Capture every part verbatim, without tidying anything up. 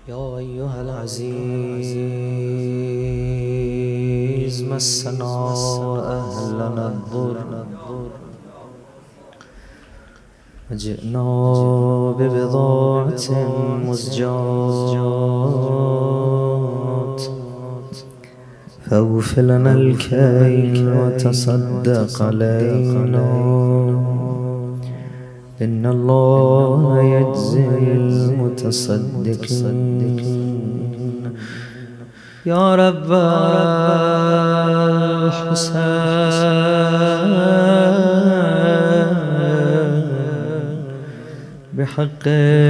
يا أيها العزيز مسنا أهلنا الضر وجئنا ببضاعة مزجاة فاغفر لنا الكيل وتصدق علينا إن الله يجزي المتصدقين. يا رب الحسين بحق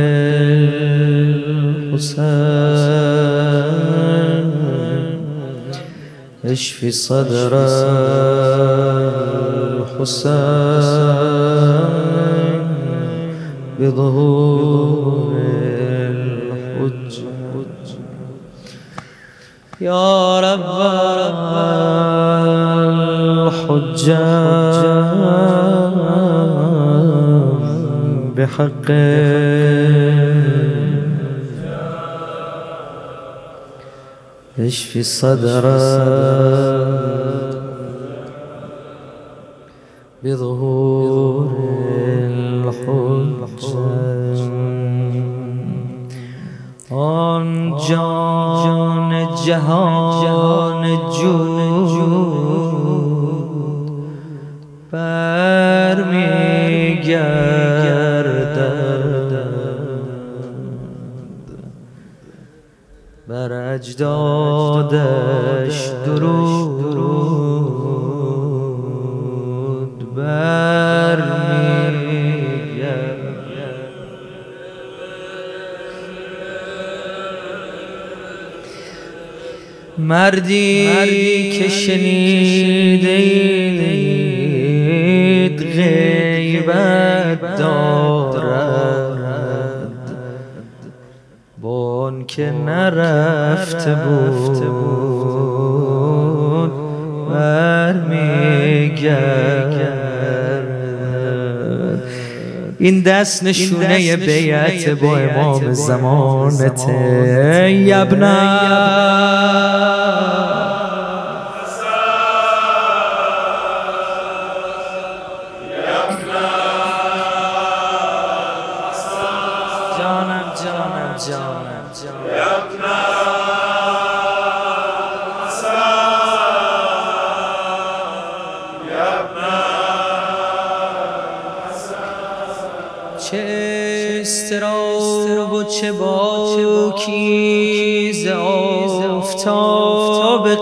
الحسين اشفي صدر الحسين بظهور الحج. يا رب الحجام بحق اشفي صدر بظهور الحج. آن جان جهان جود بر می گردد بر اجدادش درود بر می گردد. مردی که شنیدید غیبت دارد بان که نرفته بود برمیگردد. این دست نشونه بیعت با امام زمانته. یبنا جانم جانم جانم چه استراب و چه باکی ز آفتاب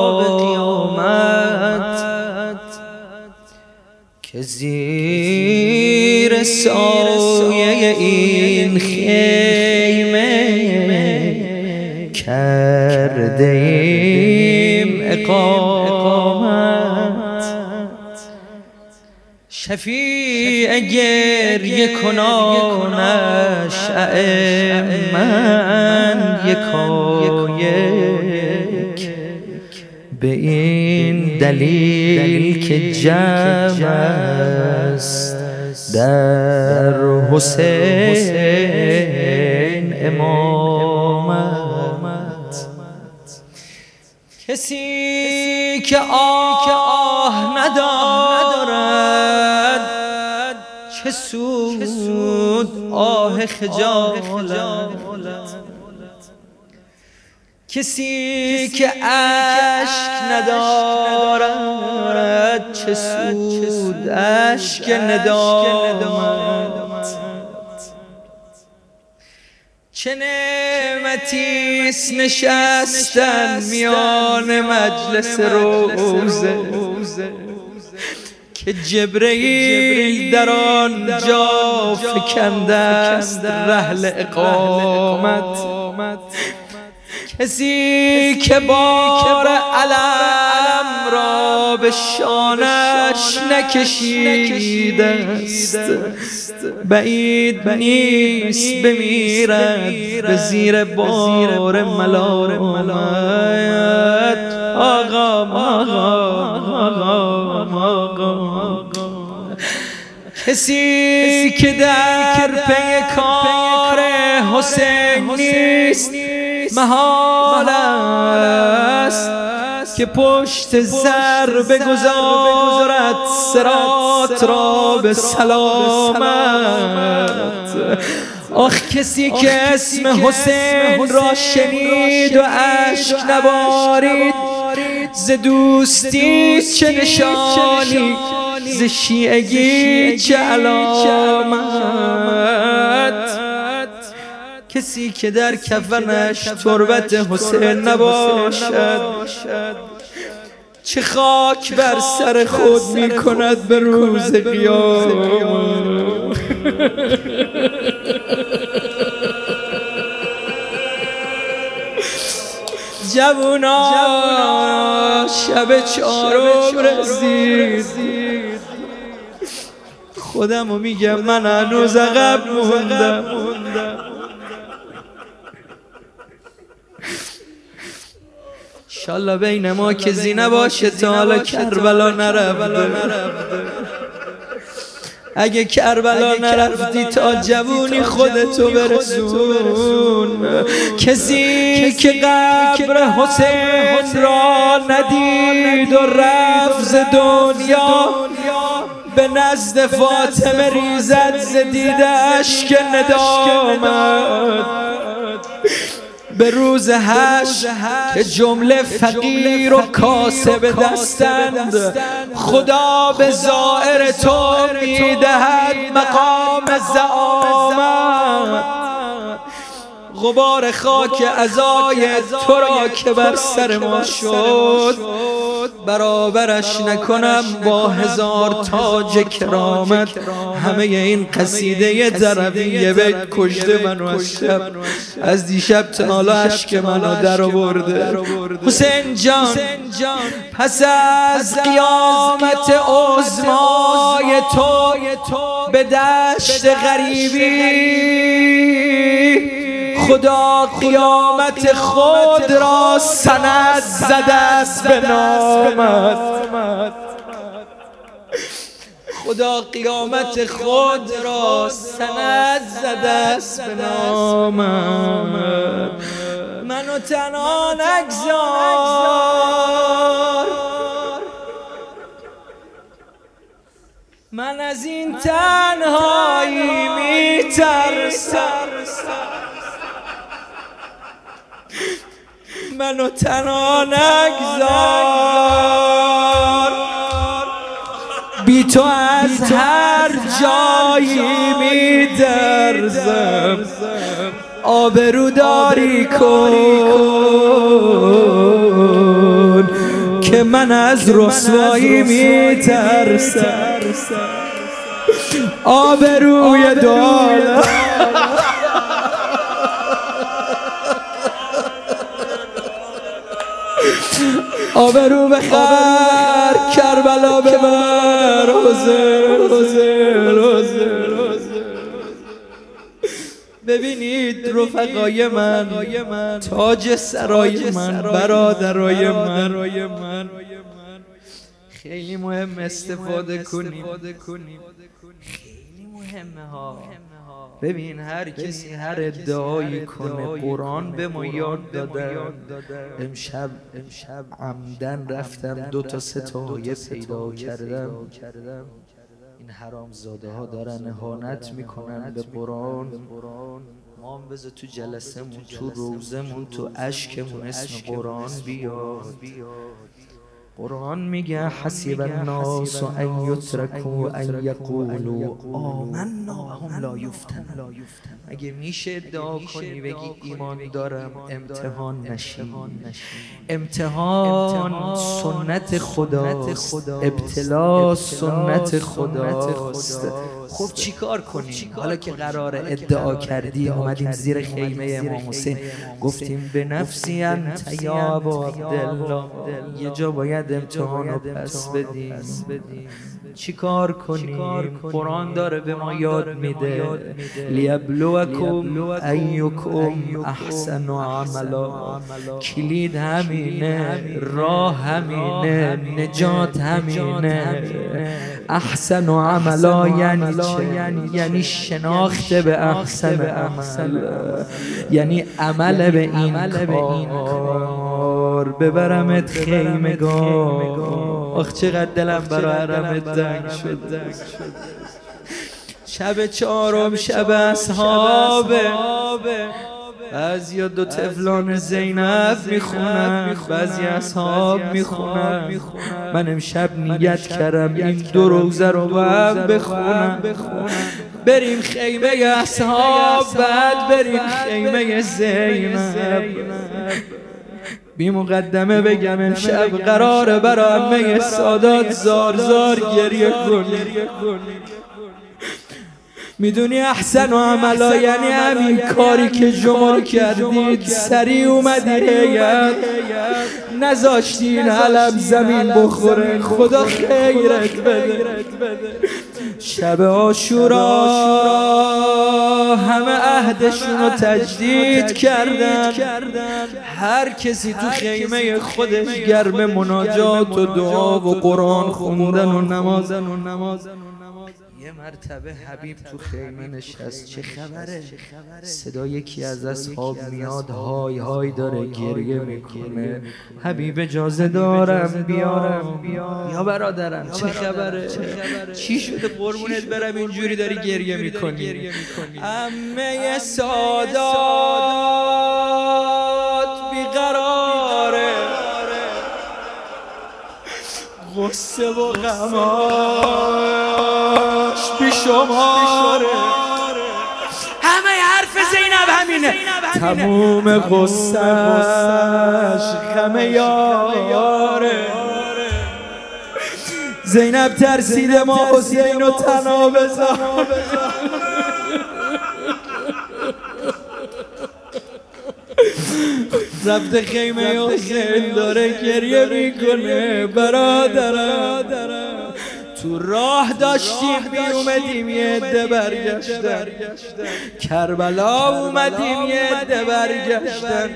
قیامت که زیر سایه این خیمه کرده ایم اقامت. شفیع گریه کنانش من یکایک به این دلیل که جمع است در حسین امامت. کسی که آه ندارد چه سود آه خجالت. کسی که اشک ندارد چه سود اشک ندامت. چه نعمتیست نشستن میان مجلس روزه که جبرئیل در آنجا فکنده است رحل اقامت. کسی که بار علم را به شانش نکشیده است بعید نیست بمیرد به زیر بار ملامت. آقا آقا آقا کسی که در پی کار حسین نیست محال است که پشت سر بگذارد صراط را به سلامت. آخ کسی که اسم حسین را شنید و اشک نبارید، ز دوستی چه نشانی، ز شیعگی چه علامت. کسی که در کفنش تربت حسین نباشد، چه خاک بر سر خود می کند به روز قیامت. جوونا شب چهارم رسید، خودمو میگم من هنوز عقب موندم. انشالله بین ما کسی نباشه تا حالا کربلا نرفته. اگه کربلا نرفتی تا جوونی خودتو برسون. کسی که قبر حسین را ندید و رفت ز دنیا، به نزد فاطمه ریزد ز دیده اشک ندامت. به روز حشر که جمله فقیر و کاسب دستند، خدا به زائر تو میدهد مقام زعامت. غبار خاک عزای تو را که بر سر ما شد، برابرش نکنم با هزار تاج کرامت. همه این قصیده ضربیه بیت کشته منو از شب، از دیشب تا حالا اشک منو در آورده. حسین جان پس از قیامت عظمای تو به دشت غریبی، خدا قیامت خود را سند زده است به نامت. خدا قیامت خود را سند زده است به نامت. منو تنها نگذار، من از این تنهایی میترسم. منو تنها نگذار، بی تو از هر جایی می‌درزم. آبروداری کن که من از رسوایی میترسم. آبروی دار آبرو بخر، کربلا ببر. حسین حسین حسین. ببینید رفقای من، تاج سرای من، برادرای من، خیلی مهم استفاده کنیم، خیلی مهمه ها. ببین هر کسی هر ادعایی کنه، قرآن به ما یاد داده. امشب امشب عمدن رفتم دو تا سه تا آیه پیدا کردم. این حرامزاده ها دارن اهانت میکنن به قرآن. ما هم بذار تو جلسمون، تو روزمون، تو اشکمون اسم قرآن بیاد. قرآن میگه حسب الناس ان یترکوا ان یقولوا آمنا وهم لا یفتنون. اگه میشه ادعا کنی بگی ایمان دارم، امتحان نشی. امتحان سنت خداست، ابتلا سنت خداست. خب چی کار کنیم حالا که قرار ادعا کردی؟ اومدیم زیر خیمه امام حسین گفتیم به نفسی انت یا ابا عبدالله. یه جا باید امتحان رو پس بدیم. چی کار کنیم؟ قرآن داره به ما یاد میده لیبلوکم ایکم احسن عملا. کلید همینه، راه همینه، نجات همینه. احسن عملا یعنی چه؟ یعنی شناخت به احسن عمل، یعنی عمل به این کار. ببرمت خیمگاه، آخ چقدر دلم برای حرمت تنگ شد. شب چهارم شب اصحابه، بعضیا دو تفلان زینب میخونن، بعضی اصحاب میخونن. من امشب نیت کردم این دو روزه رو با هم بخونم. بریم خیمه اصحاب، بعد بریم خیمه زینب. بی مقدمه بگم امشب قراره برای همه سادات زار زار گریه کنی. میدونی احسن و عملا یعنی همین کاری که شما کردید. سریع اومدی هیئت، نذاشتین علم زمین بخوره. خدا خیرت بده. شب عاشورا همه عهدشون رو تجدید کردن. هر کسی تو خیمه خودش گرم مناجات و دعا و قرآن خوندن و نمازن و نمازن. یه مرتبه حبیب تو خیمه نشست. چه خبره؟ صدا یکی از اصحاب میاد، های های داره گریه میکنه. حبیب اجازه دارم بیارم؟ یا برادرم چه خبره؟ چی شده قربونت برم اینجوری داری گریه میکنی؟ عمه سادات بیقراره، غصه و غماش بی شماره. همه حرف زینب همینه، تموم غصهش غم یاره. زینب ترسیده ما حسین و تنها بذار. رفته خیمه حسین داره گریه میکنه. برادرم تو راه داشتیم بیومدیم یه عده برگشتن، کربلا اومدیم یه عده برگشتن.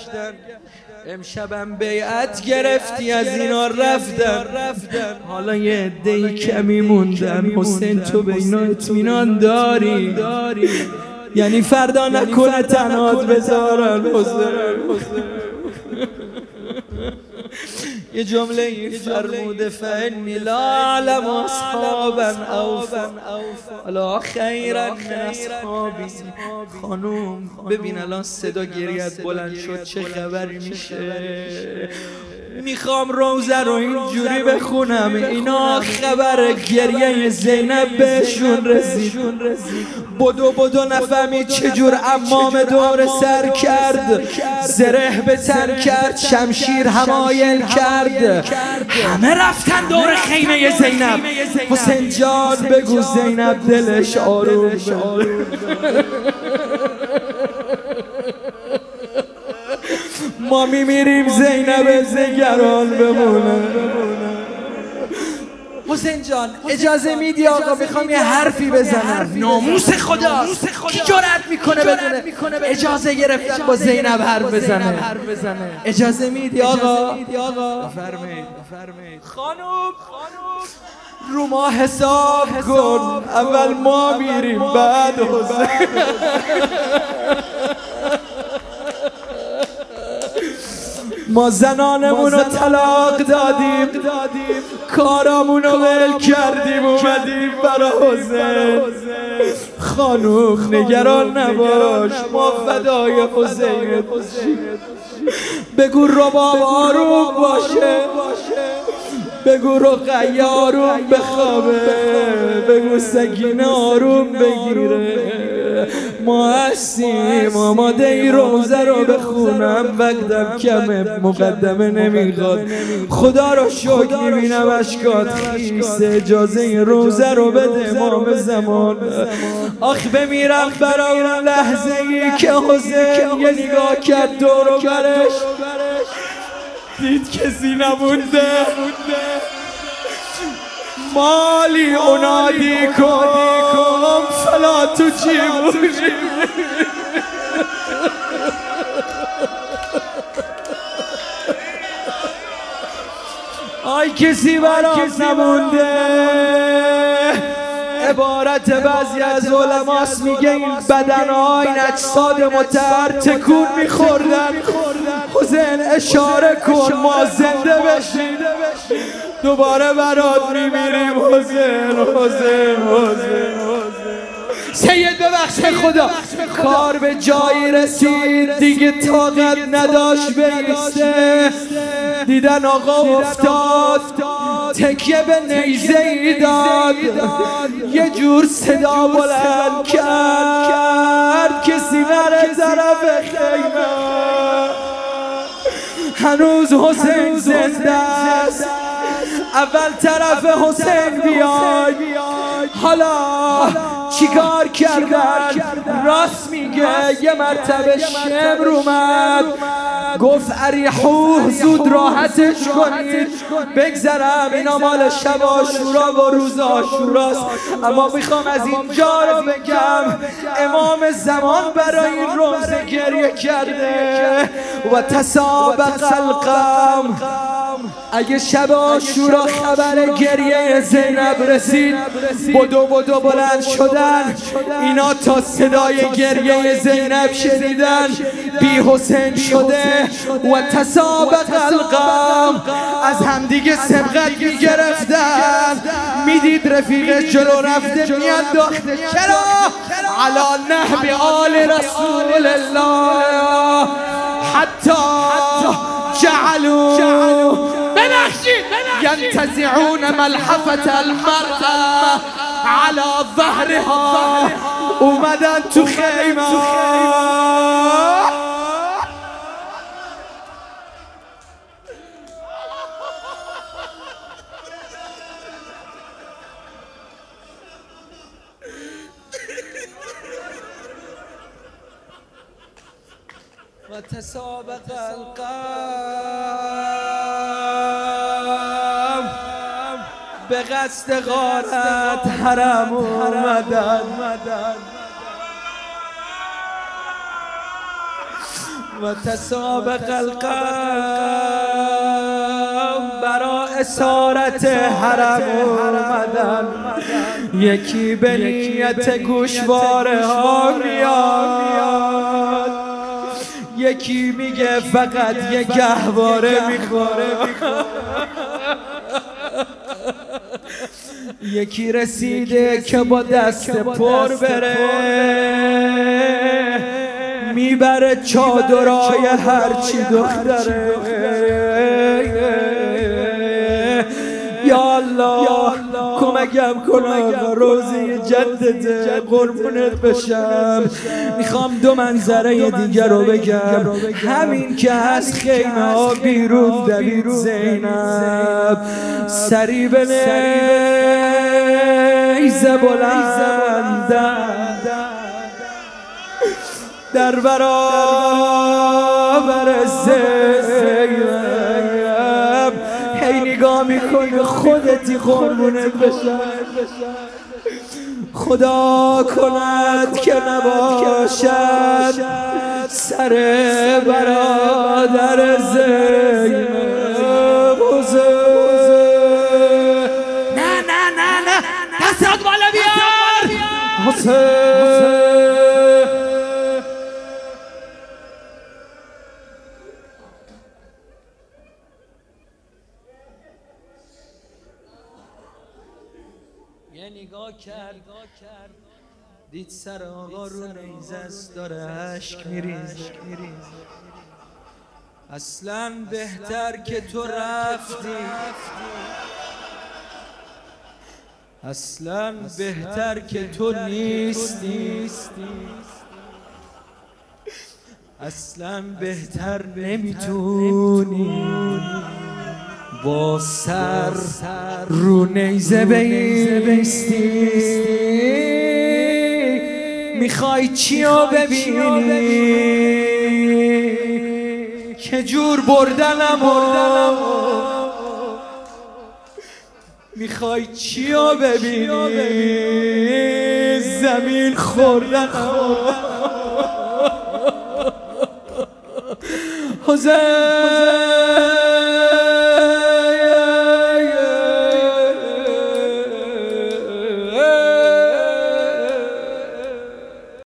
امشبم بیعت گرفتی از اینا رفتن، حالا یه عده‌ای کمی موندن. حسین تو به اینا اطمینان داری؟ یعنی فردا نکنه تنهات بذارن حسین. یه جمله این فرموده فإنی لا اعلم اصحابا اوفا الا خیرا من اصحابی. خانوم ببین الان صدا گریت بلند شد، چه خبری میشه؟ میخوام روزه رو اینجوری بخونم اینا خبر گریه زینب بهشون رسید. بدو بدو نفهمید چجور امام دور سر کرد، زره به تن کرد، شمشیر همایل کرد. همه رفتن دور خیمه زینب. حسین جان بگو زینب دلش آروم بشه. ما میمیریم زینب زگران بمونه. حسین جان اجازه میدی آقا میخوام یه حرفی بزنم؟ ناموس خدا کی جرأت میکنه بدونه اجازه گرفتن با زینب حرف بزنه؟ اجازه میدی آقا؟ بفرمایید. خانوم رو ما حساب کن، اول ما میریم بعد حسین. ما زنانمون رو طلاق دادیم، کارامون رو ول کردیم، اومدیم برا حسین. خانوم نگران نباش، ما فدای حسین. بگو رباب آروم باشه، بگو رقیه آروم بخوابه، بگو سکینه آروم بگیره. ما هستیم آماده ای روزه رو بخونم، وقتم کمه مقدمه نمیخواد. خدا رو شکر میبینم اشکات خیسه، اجازه این روزه رو بده امام زمان. آخ بمیرم برای اون لحظه ای که حسین یه نگاه کرد دور و برش، دید کسی نمونده. مالی انادیکم فلا تجیبونی. آی کسی برام نمونده. عبارت بعضی از علماست میگه این بدنها این اجساد متحر تکون میخوردن. حسین اشاره کن ما زنده بشیم دوباره برات میمیریم. حسین حسین حسین سید ببخش خدا. کار به جایی رسید دیگه طاقت نداشت بیسته. دیدن آقا افتاد تکیه به نیزه ای داد. یه جور صدا بلند کرد کسی نره طرف خیمه. هنوز حسین زنده است. اول طرف حسین بیای. حالا چیکار کردن؟ راست میگه. یه مرتبه شمر اومد گفت اریحوه زود راحتش کنید بگذرم. اینا مال شب عاشورا و روز عاشوراست. اما میخوام از اینجا رو بگم امام زمان برای این روزه گریه کرده. و تسابق القوم. اگه شب عاشورا خبر گریه زینب رسید بدو بدو بلند شدن. اینا تا صدای گریه زینب شنیدن بی حسین شده. و تسابق القوم. از همدیگه سبقت میگرفتن. میدید رفیق جلو رفته میانداخته. چرا؟ علی نحو آل رسول الله حتی جعلوا ينتزعون ملحفة المرأة على ظهرها. اومدن تو خیمه و تسابق القوم. به قصد غارت حرم اومدن. و تسابق القوم. برا اسارت حرم اومدن. یکی به نیت گوشواره ها میاد. یکی میگه فقط یه گهواره میخوره. یکی رسیده که با دست پر بره میبره چادرای هرچی دختره. یا الله کمکم کن آقا روزی جدته قربونت بشم. میخوام دو منظره دیگر رو بگم. همین که از خیمه ها بیرون دوید زینب سری به نیزه بلندن در برابر زینب. هی نگاه میکنی خودتی قربونت بشم. خدا کند که نباشد سر برادر زینب. نه نه نه نه دستات بالا بیار حسین. یه نگاه کرد دید سر آقا رو نیزه است داره اشک میریزه. اصلا بهتر که تو رفتی. اصلا بهتر که تو نیستی. اصلا بهتر نمیتونی با سر رو نیزه بیستی. میخوای چیو ببینی که جور بردنم میخوای چیو ببینی؟ زمین خوردن حسین